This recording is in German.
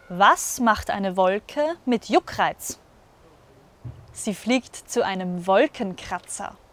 Was macht eine Wolke mit Juckreiz? Sie fliegt zu einem Wolkenkratzer.